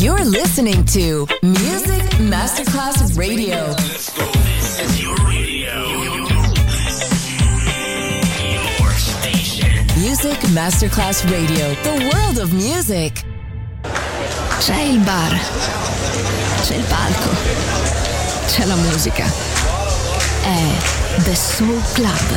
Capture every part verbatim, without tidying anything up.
You're listening to Music Masterclass Radio. Let's go. This is your radio. Your station. Music Masterclass Radio. The world of music. C'è il bar. C'è il palco. C'è la musica. È The Soul Club.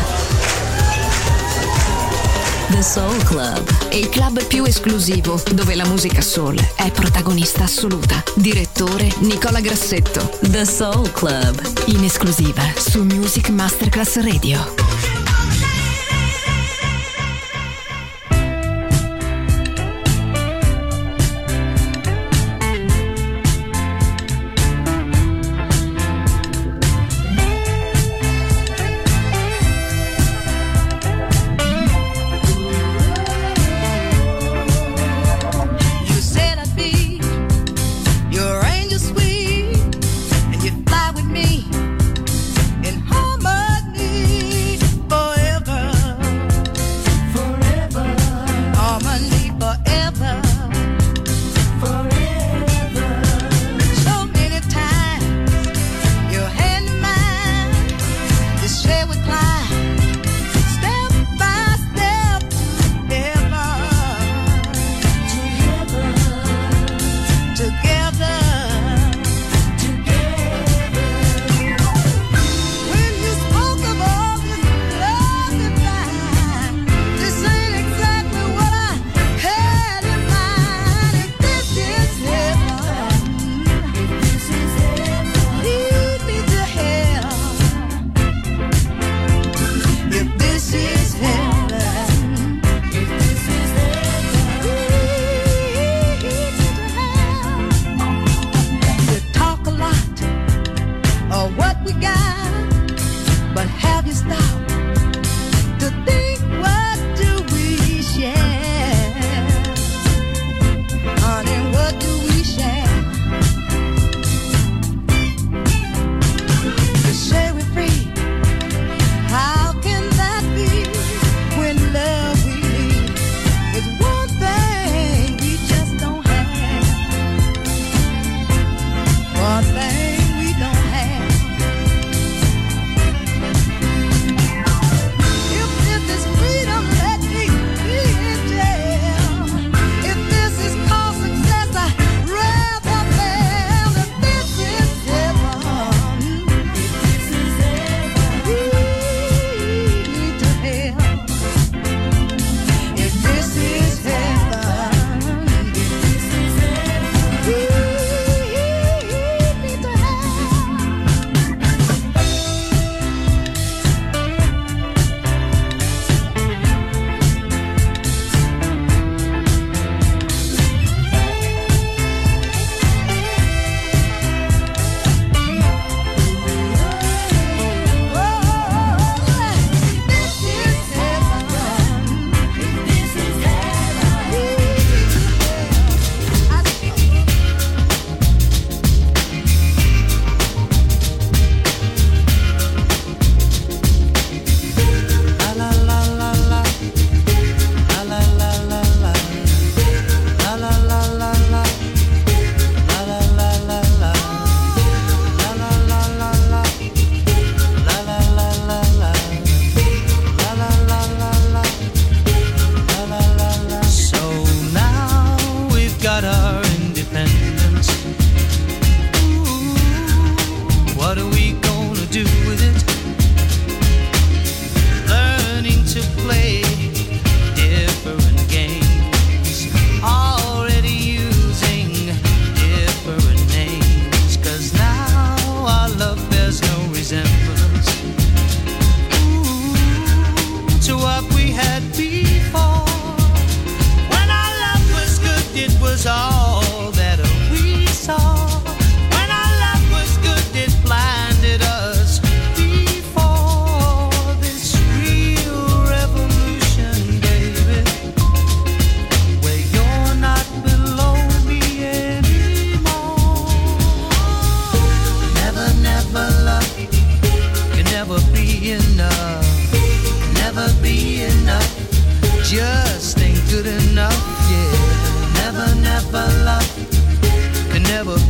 The Soul Club. Il club più esclusivo, dove la musica soul è protagonista assoluta. Direttore Nicola Grassetto. The Soul Club. In esclusiva su Music Masterclass Radio. Fly with me in harmony.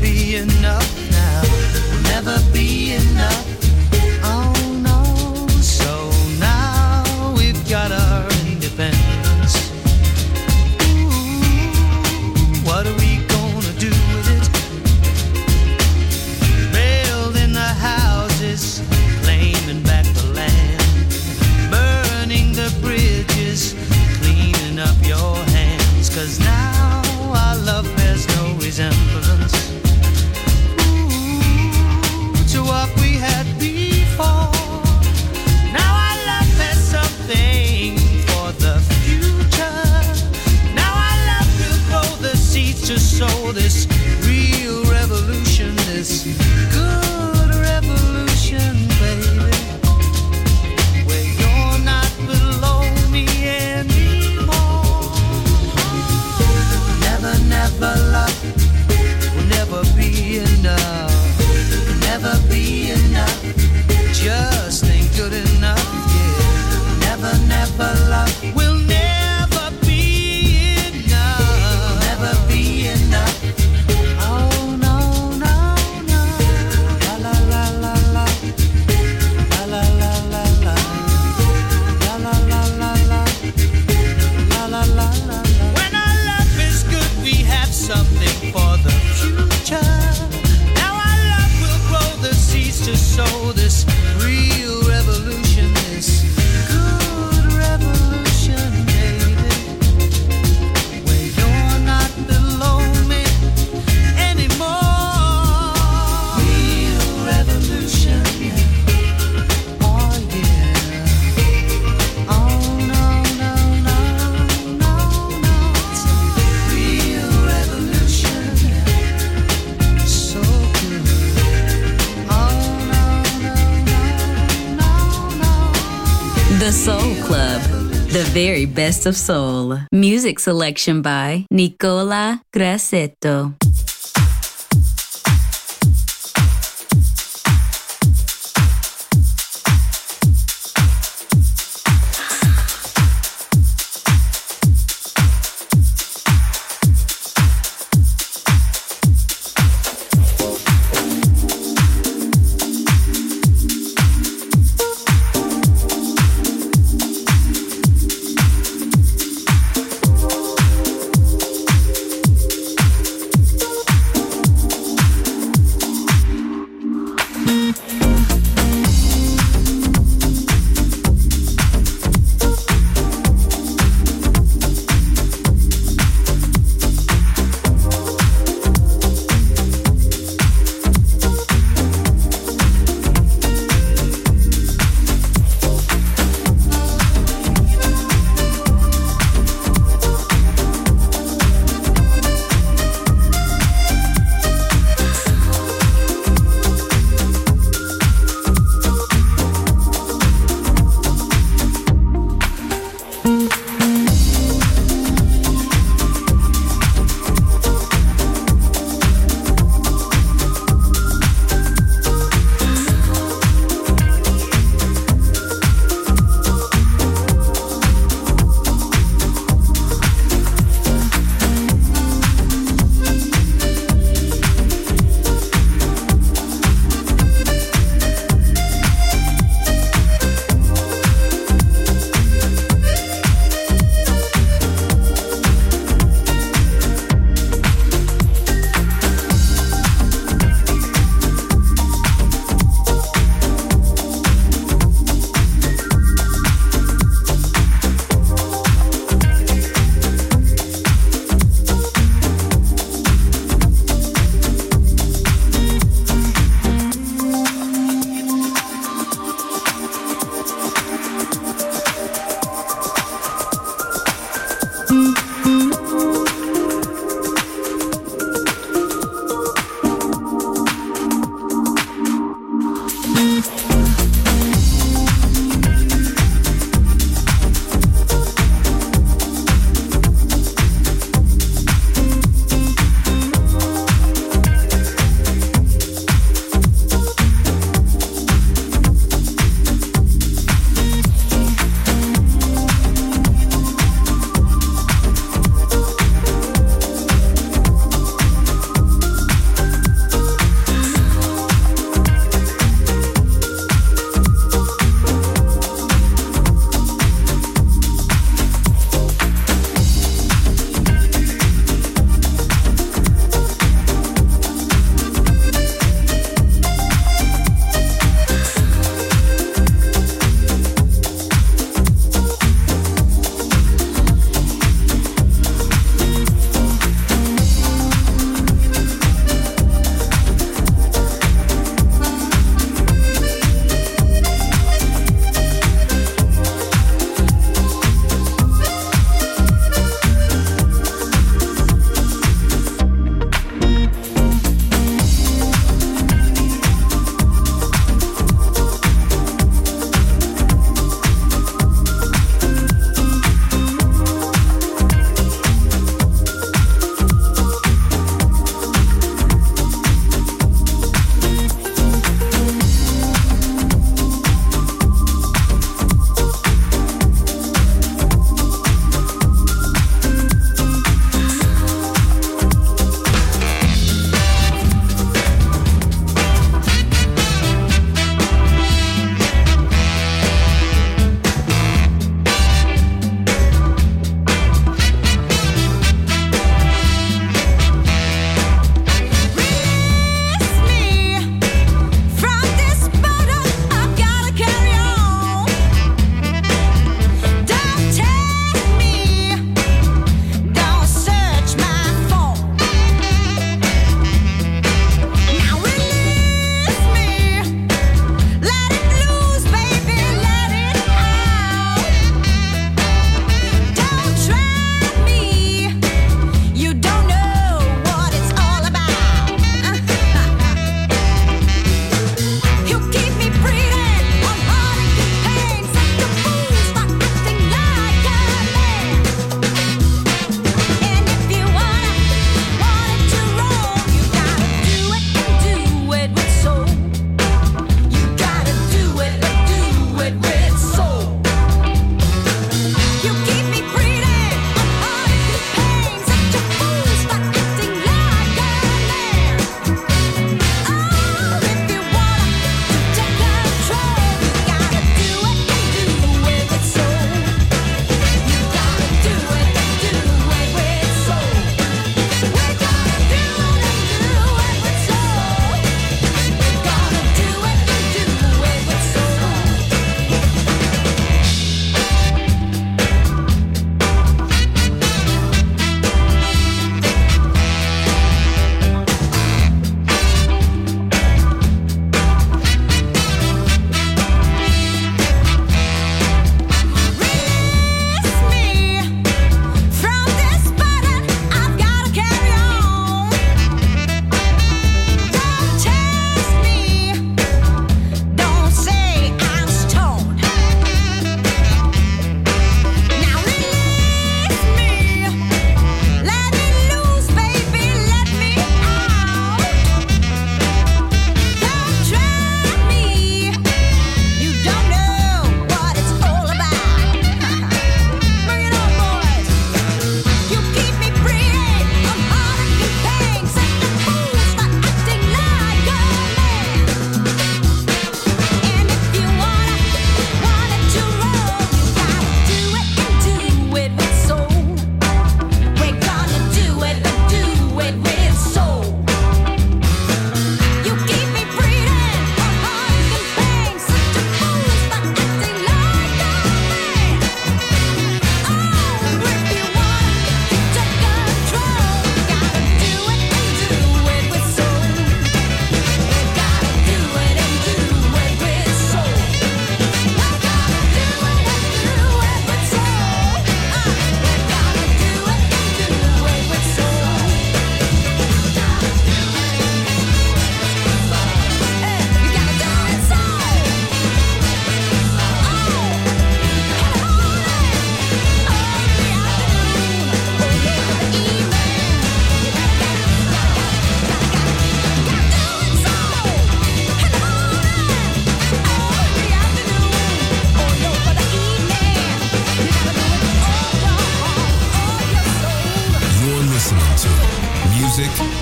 be enough now. We'll never be enough. Oh no. So now we've got our independence. Ooh, what are we gonna do with it? Building the houses, claiming back the land, burning the bridges, cleaning up your hands. Cause now our love bears no resemblance Ooh, to what we had before. Now our love has something for the future. Now our love will grow the seeds to sow this real revolution, this good revolution, baby. Where you're not below me anymore. Never, never love will never be enough. Will never be enough. Just ain't good enough, yeah. Never, never love will never be enough. Never be enough. Oh no, no, no. La la la la la. La la la la la. La la la la la. La la la la la. When our love is good, we have something for the future. Now our love will grow the seeds to sow this real revolution, this good revolution, baby. Where you're not below me anymore. Real revolution, oh yeah. Oh no, no, no, no, no. It's a real revolution, so good. Oh no, no, no, no, no. The Soul Club, the very best of soul. Music selection by Nicola Grassetto.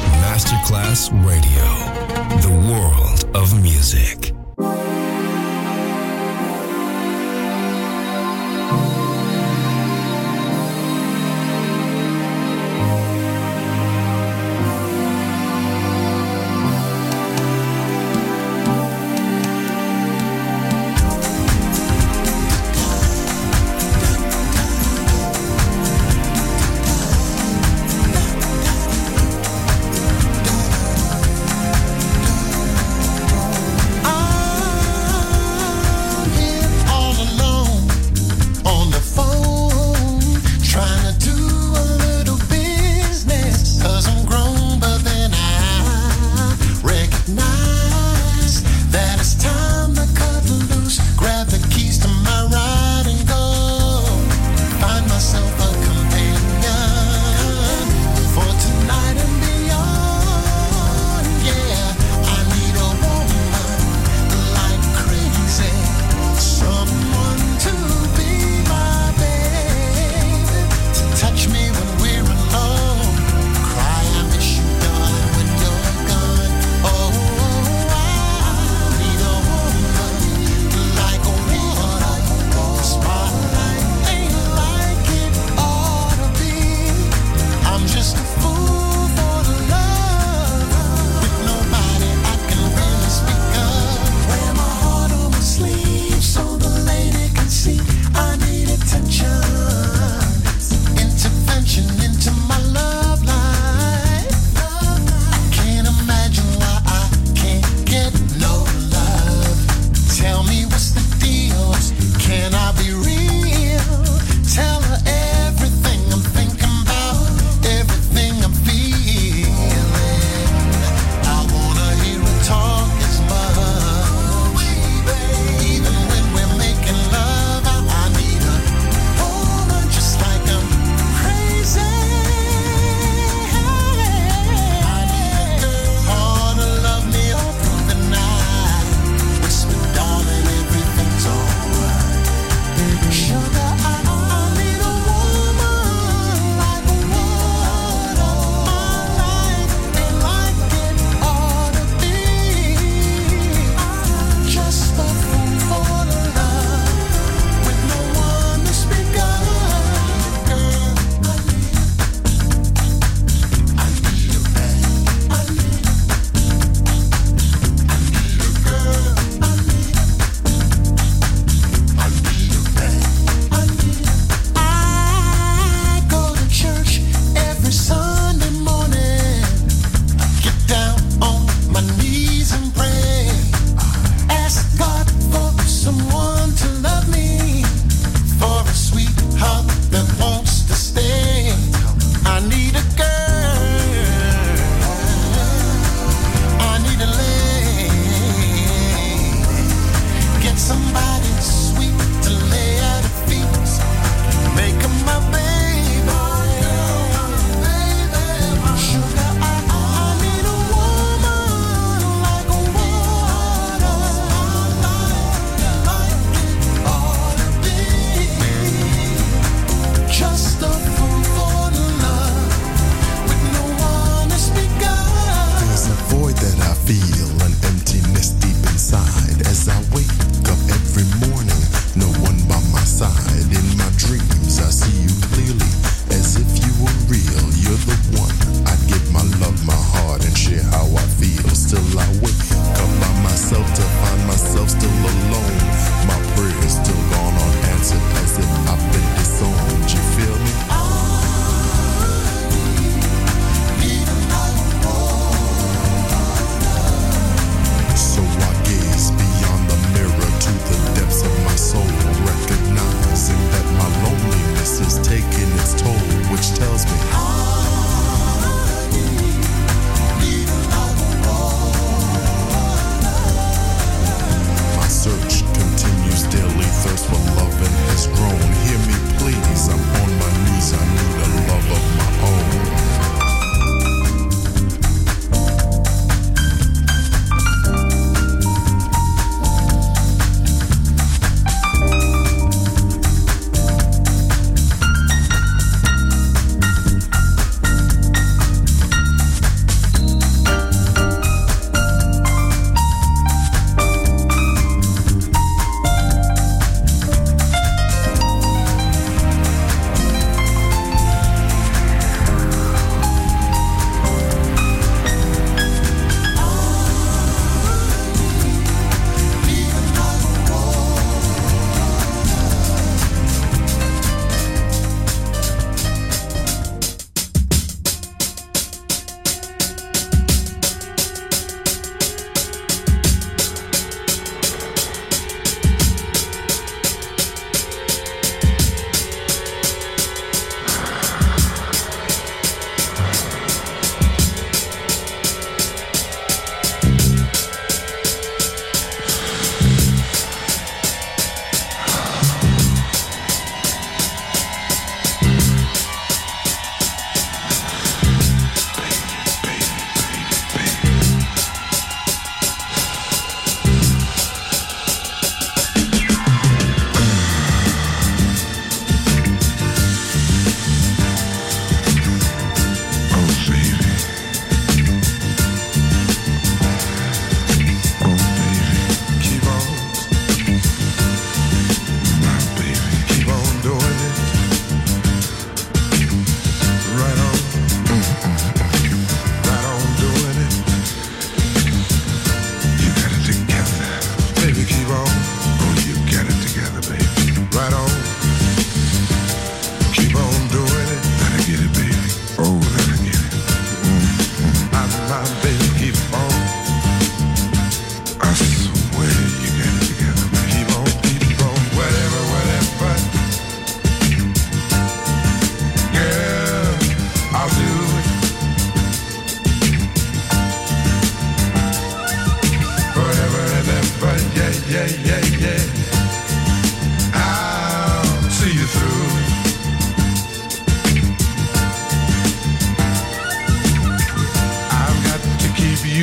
Masterclass Radio, the world of music. I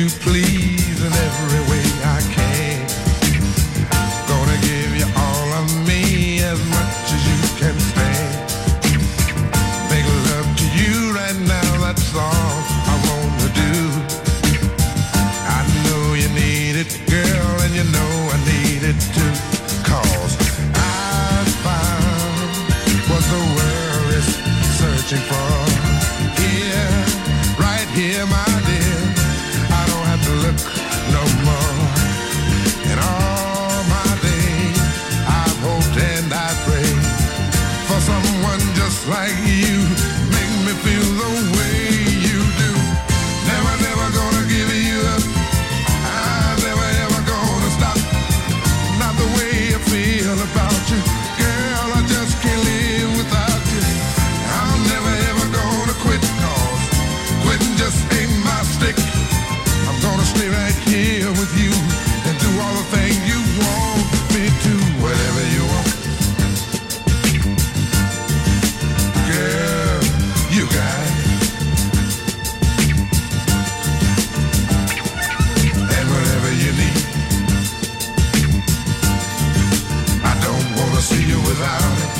you please in every way I can. Gonna give you all of me as much as you can stand. Make love to you right now, that's all I wanna do. I know you need it, girl, and you know I need it too. Cause I found what the world is searching for. Here, right here, my dear, I don't have to look no more. In all my days, I've hoped and I prayed for someone just like you. Make me feel the way you do. Never, never gonna give you up. I'm never, ever gonna stop. Not the way I feel about you. Girl, I just can't live without you. I'm never, ever gonna quit, cause quitting just ain't my stick. I'm gonna stay right here with you and do all the things you want me to. Whatever you want. Girl, you got it. And whatever you need, I don't wanna see you without it.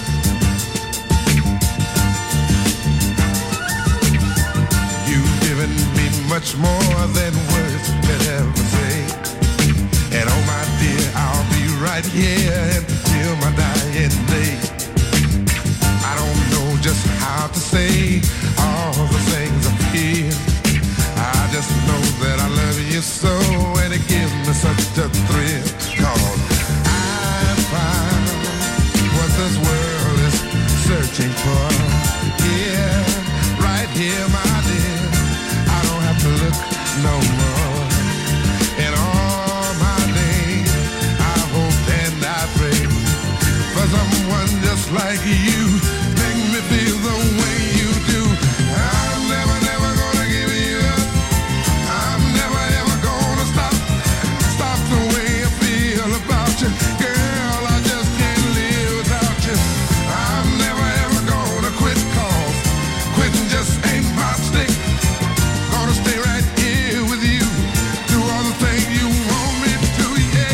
You've given me much more than words could ever say. And oh my dear, I'll be right here until my dying day. I don't know just how to say all the things I feel. I just know that I love you so, and it gives me such a thrill. Cause I found what this world is searching for. Yeah, right here, my dear, I don't have to look no more. In all my days, I hoped and I prayed for someone just like you. Make me feel the way you do. I'm never, never gonna give you up. I'm never, ever gonna stop. Stop the way I feel about you. Girl, I just can't live without you. I'm never, ever gonna quit, cause quitting just ain't my stick. Gonna stay right here with you. Do all the things you want me to, yeah.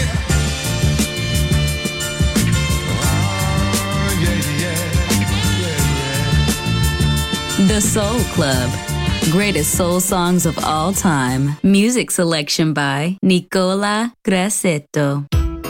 Oh, yeah, yeah, yeah, yeah. The Soul Club. Greatest soul songs of all time. Music selection by Nicola Grassetto.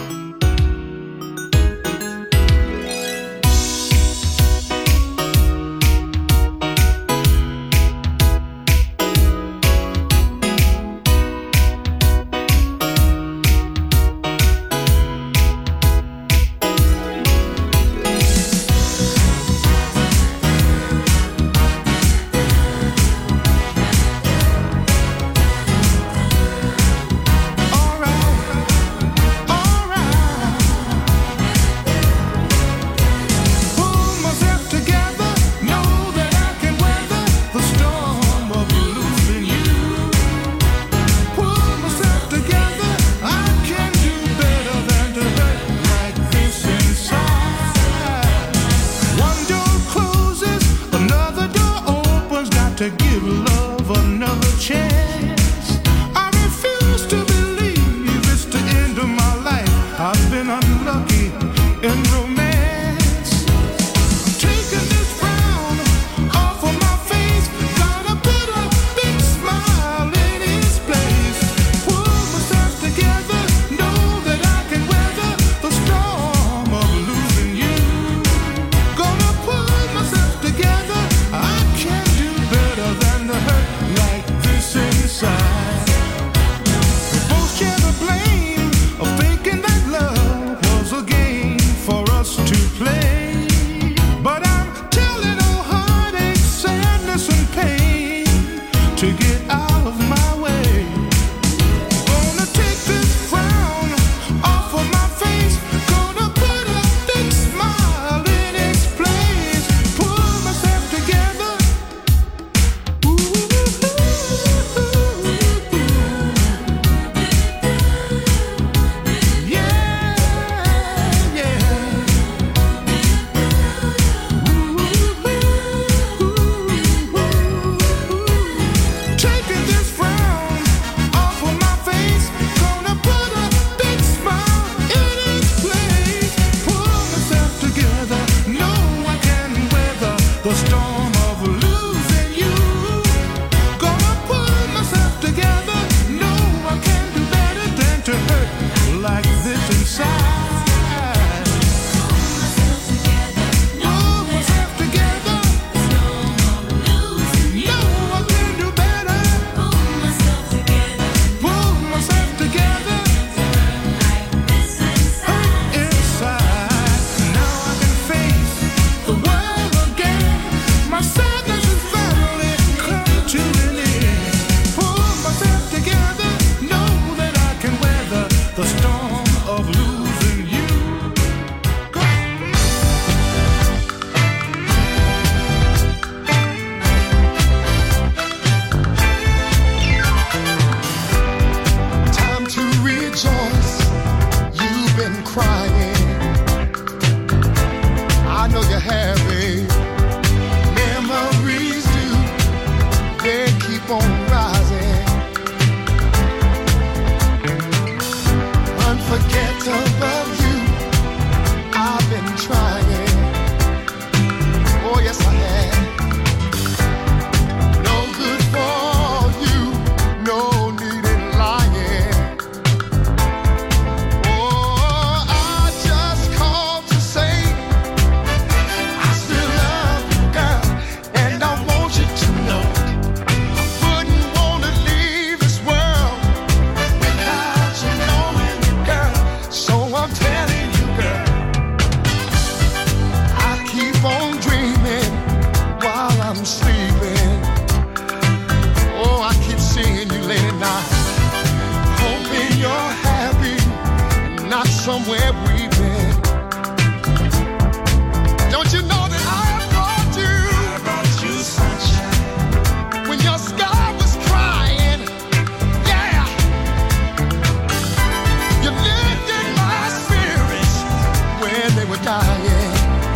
To give love another chance. I refuse to believe it's the end of my life. I've been unlucky in romance. I'm taking this frown off of my face. Gotta put a big smile in its place. Pull myself together, know that I can weather the storm of losing you. Gonna pull myself together, I can't do better than the hurt like this inside. We both share the blame of thinking that love was a game for us to play. But I'm telling all heartache, sadness and pain to get out of my way. Gonna take this frown off of my face. Gonna put a big smile in its place. Pull myself together. Ooh, ooh, ooh, ooh. where we've been. Don't you know that I have brought you? I brought you sunshine. When your sky was crying, yeah. You lifted my spirits when they were dying.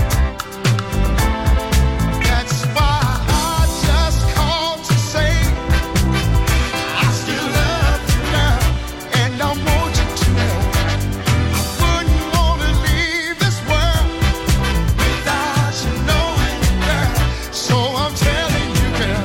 That's why I just called to say I still love you now, and I want you to know I wouldn't want to leave this world without you knowing, girl. So I'm telling you, girl.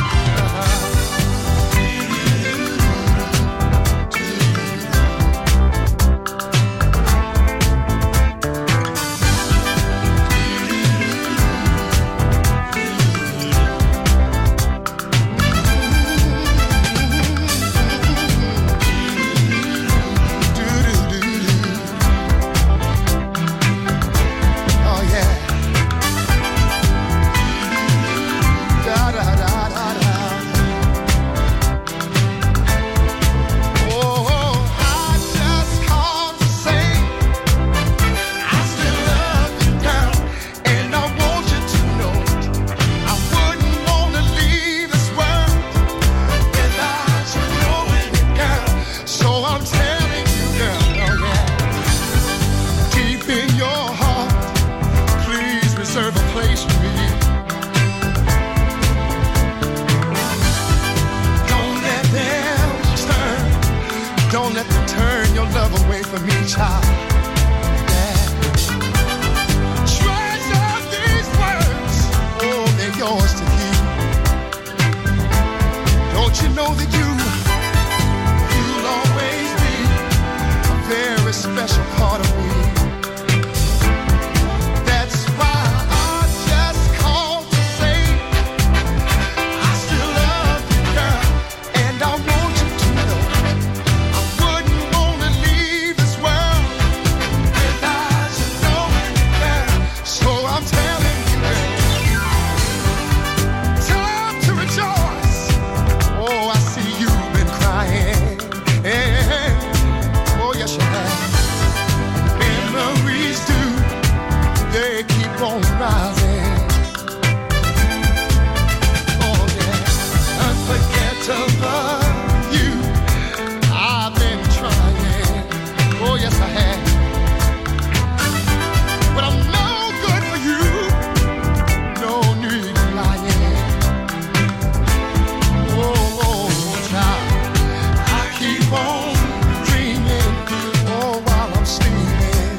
Oh yeah. Da da da da da. Oh, I just called to say I still love you, girl, and I want you to know I wouldn't want to leave this world without you knowing it, girl. So I'm telling you, girl, oh yeah. Deep in your heart, please reserve a place for me. Don't let them turn, don't let them turn your love away from me, child. Yeah. Treasure these words, oh, they're yours to keep. Don't you know that you, you'll always be a very special part of me. That's why I just called to say I still love you, girl, and I want you to know I wouldn't want to leave this world without you knowing, girl. So I'm telling you, girl, time to rejoice. Oh, I see you've been crying. Yeah. Oh, yes, you have. Memories do, they keep on rising. Oh yeah, unforgettable you, I've been trying. Oh yes, I have. But I'm no good for you, no need of lying. Oh, oh, child, I keep on dreaming, oh, while I'm sleeping.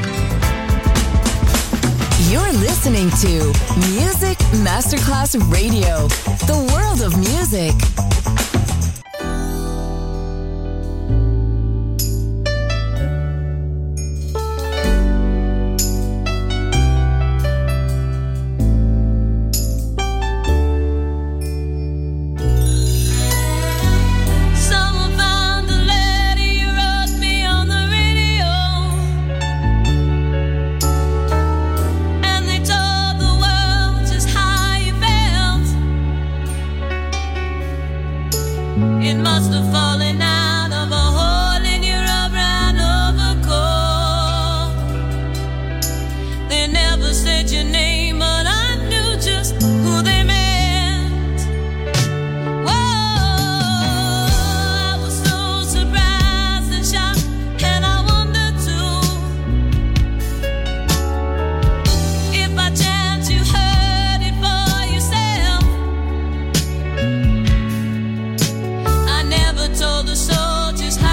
You're listening to Music Masterclass Radio, the world of music. Someone found the letter you wrote me on the radio, and they told the world just how you felt. It must have fallen out of a hole in your brown overcoat. They never said your name, but I knew just who they meant. Whoa, I was so surprised and shocked, and I wondered too if by chance you heard it for yourself. I never told the soldiers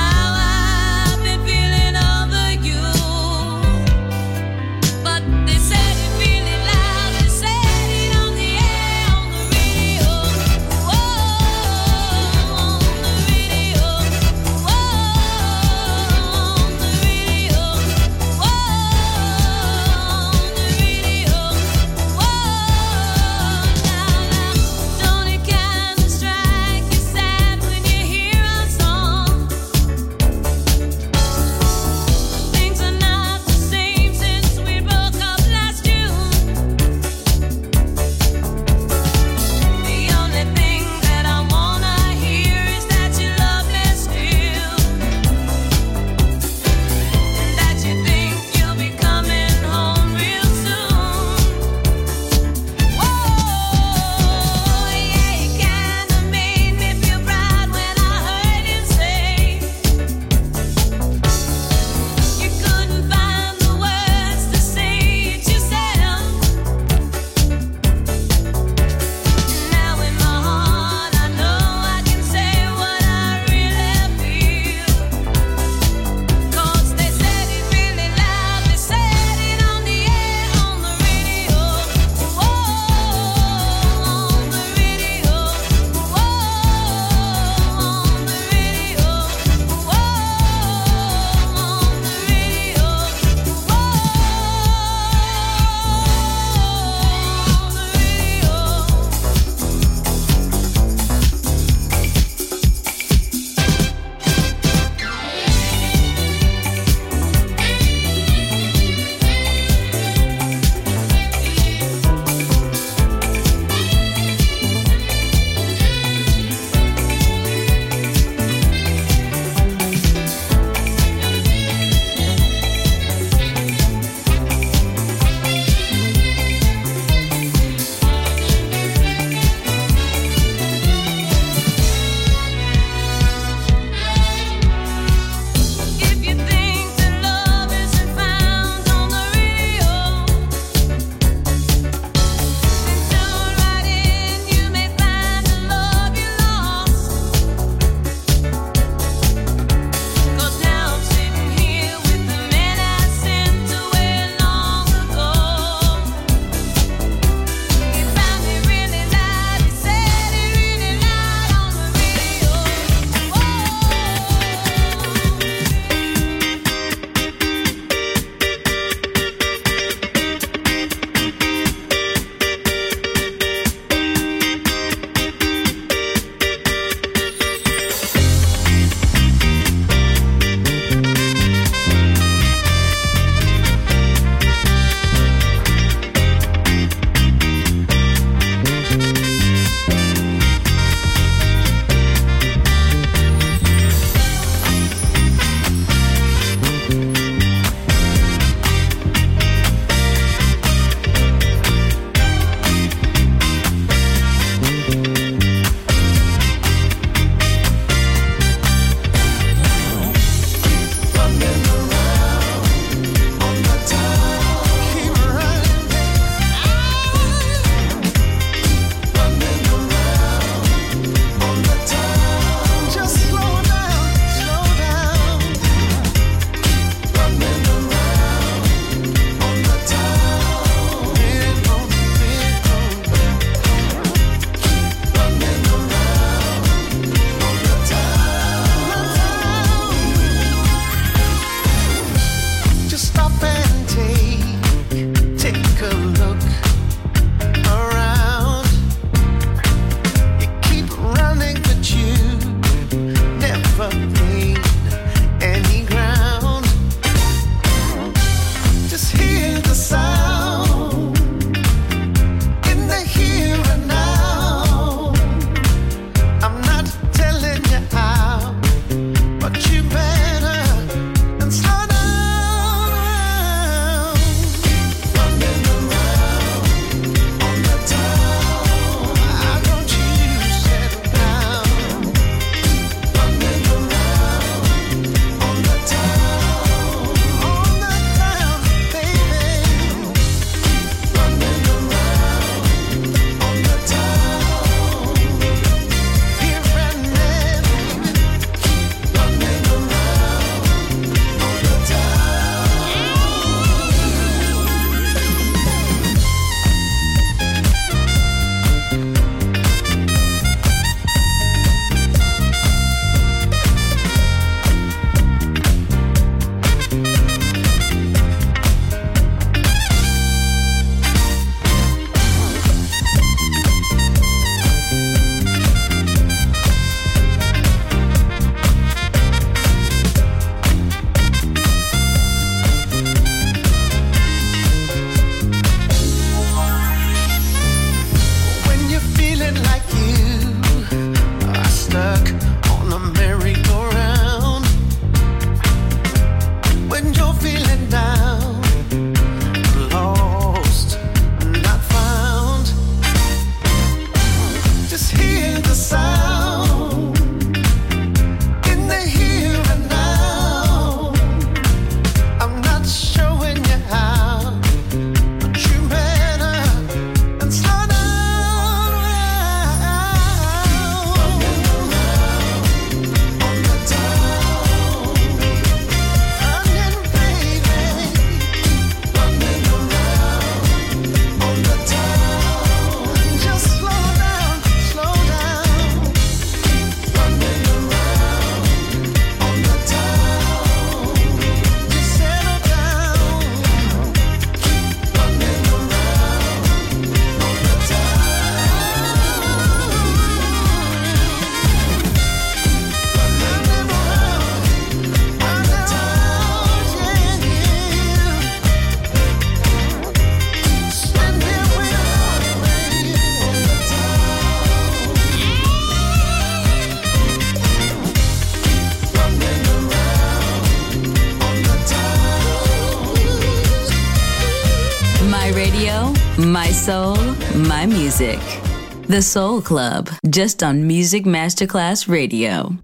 My soul, my music. The Soul Club, just on Music Masterclass Radio.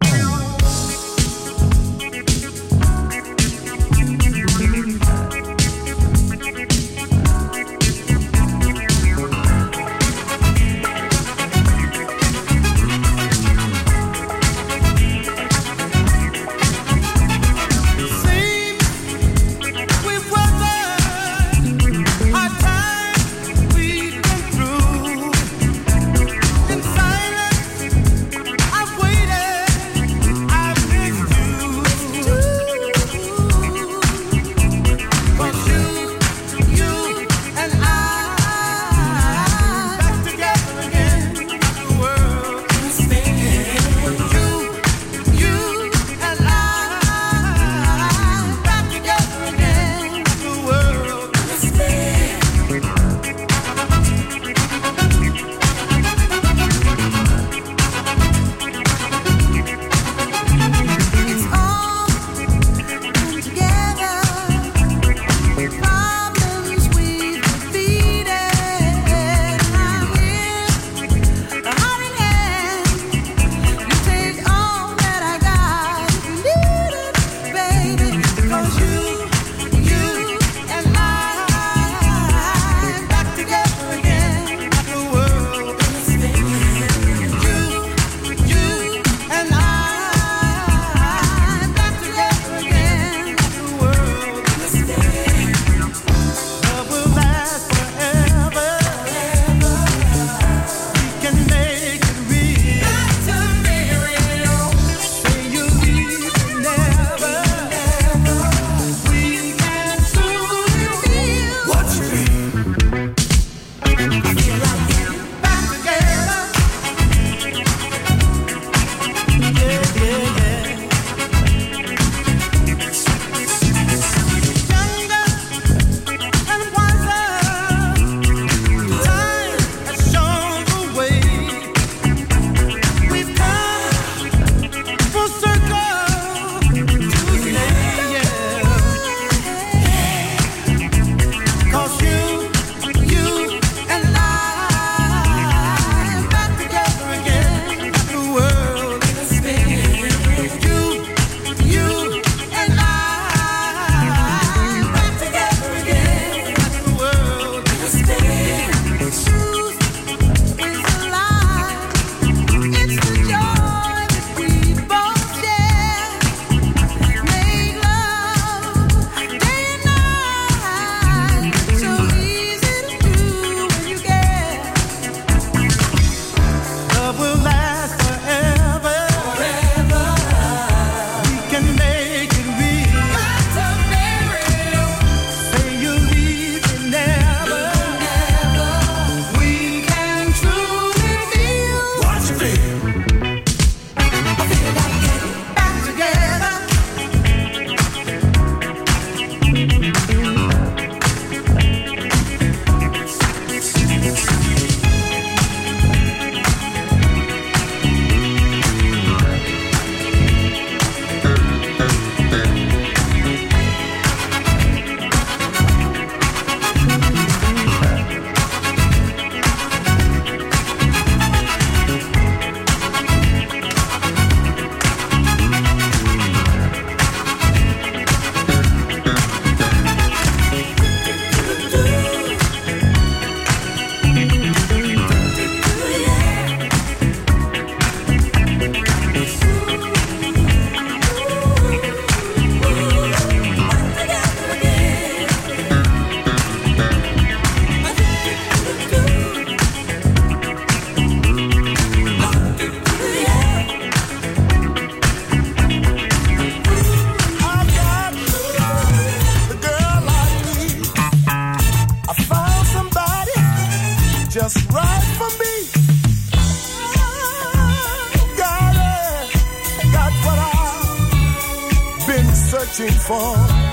searching for.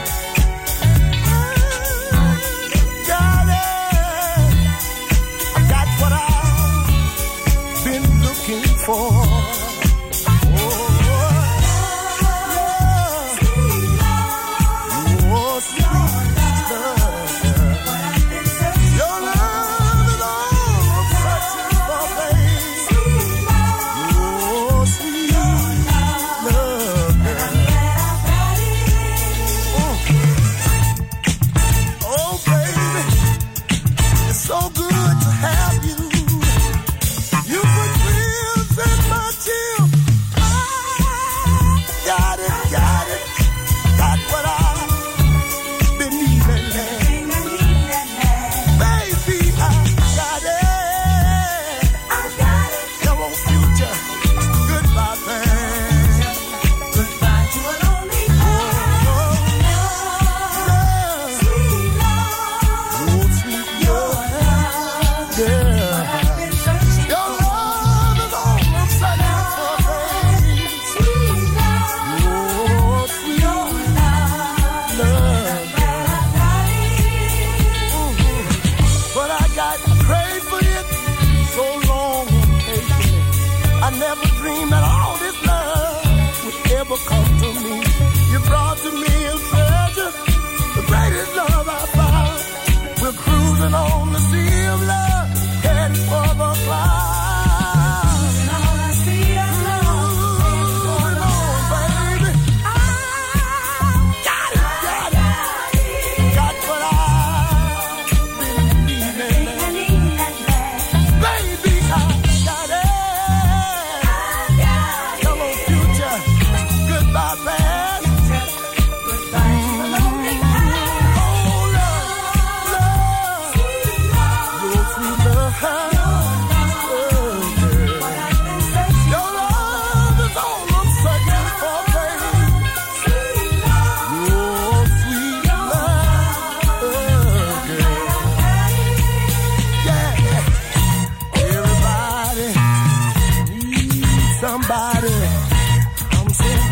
Got it. I got what I've been looking for. Your love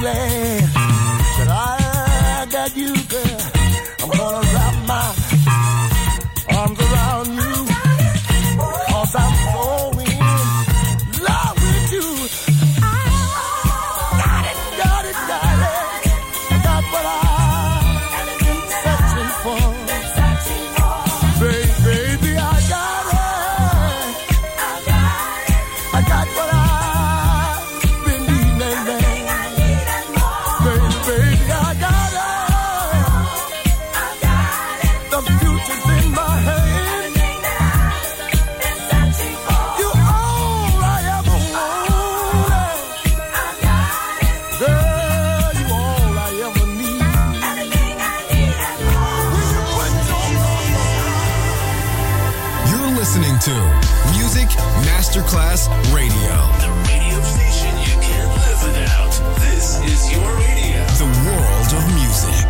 glad that I got you, girl. I'm gonna wrap my arms around you, 'cause I'm so in love with you. I got it, got it, got it. I got what I've been searching for. Baby, baby, I got it. I got what I've been needing, baby. Baby, baby, I got it. The future's in my hand. You're all I ever wanted. Girl, you're all I ever need. You're listening to Music Masterclass Radio. The radio station you can't live without. This is your radio. The world of music.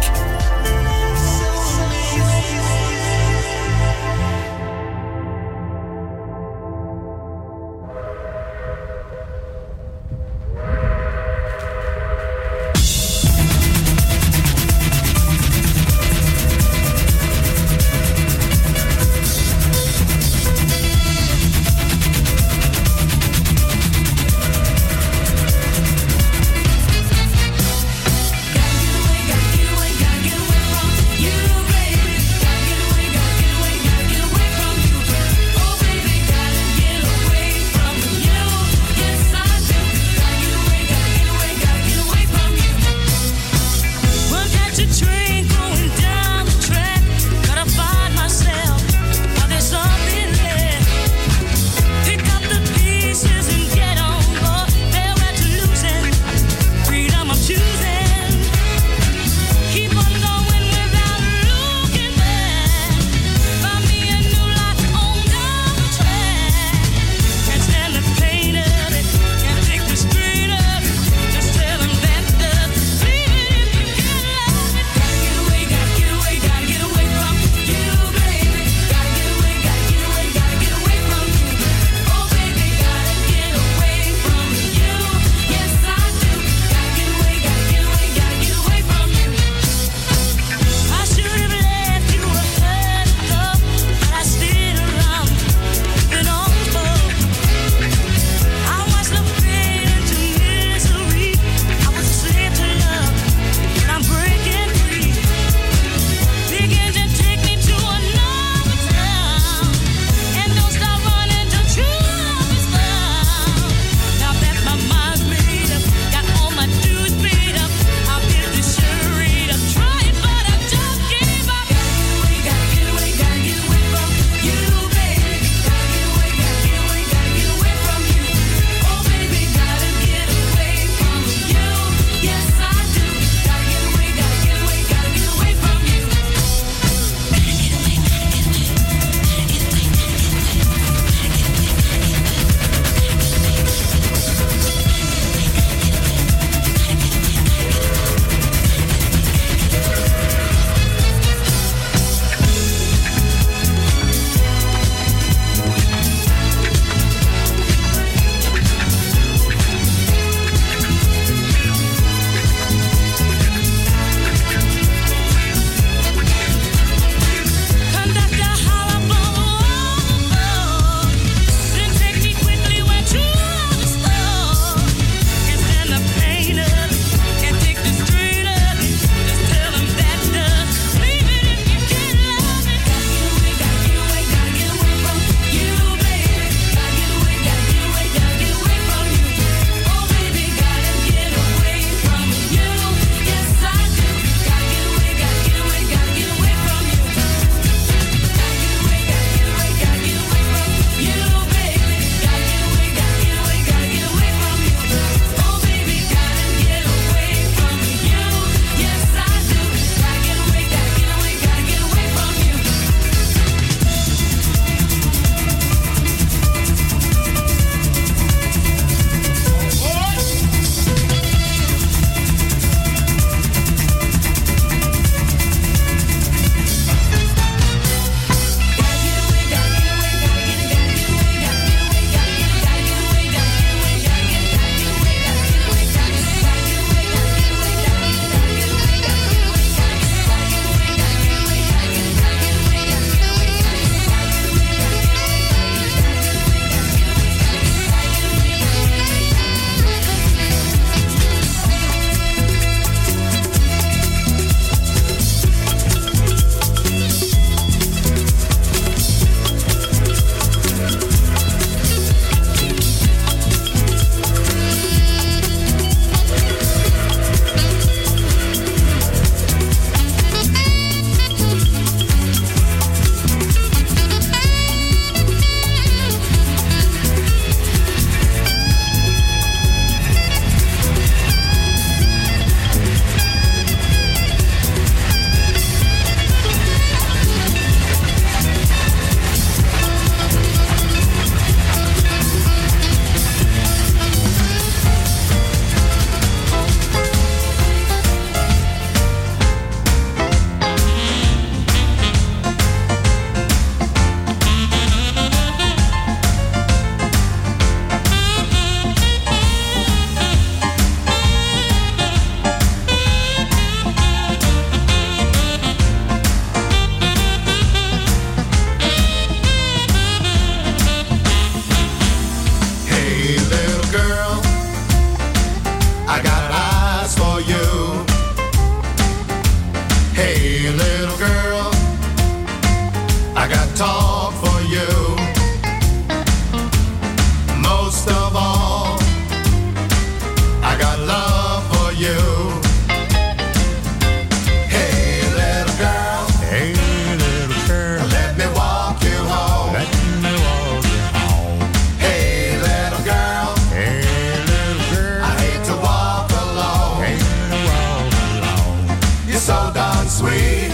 sweet.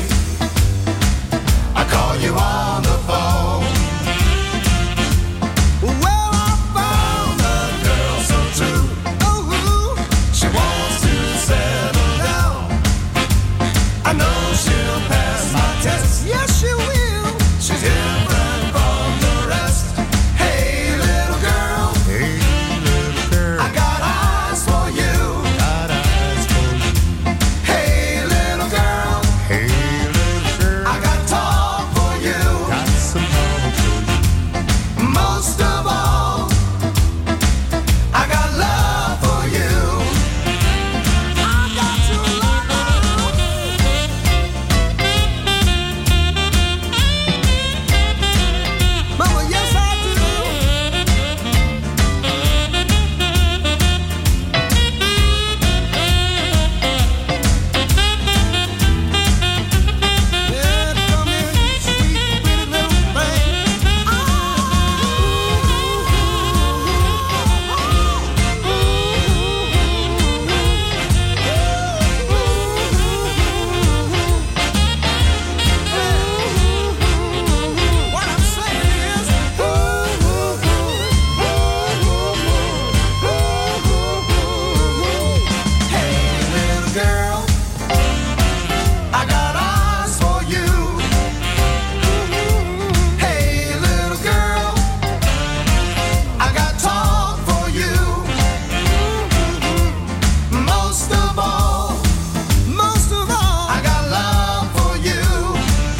I call you on the phone. Well, I found a girl so true. Oh, she wants to settle down. I know she'll pass my test. Yes, she will. She's different from the rest. Hey, little girl. Hey, little girl. I got eyes for you. Got eyes for you. Hey, little girl. Hey, little girl. I got talk for you. Got some talk for you. Most of all, I got love for you. I got to love. Mama, yes I do. Yeah, come here, sweet, pretty little thing. What I'm saying is, hey, little girl, I got eyes for you. Hey, little girl, I got talk for you. Most of all, most of all, I got love for you.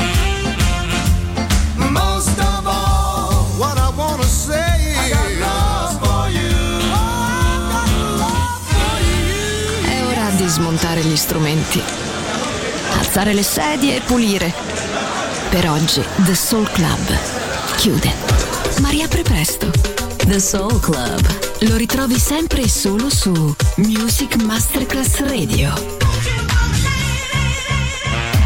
Most of all, what I wanna say, I got love for you. Oh, I got love for you. È ora di smontare gli strumenti, alzare le sedie e pulire. Per oggi The Soul Club chiude, ma riapre presto. The Soul Club. Lo ritrovi sempre e solo su Music Masterclass Radio.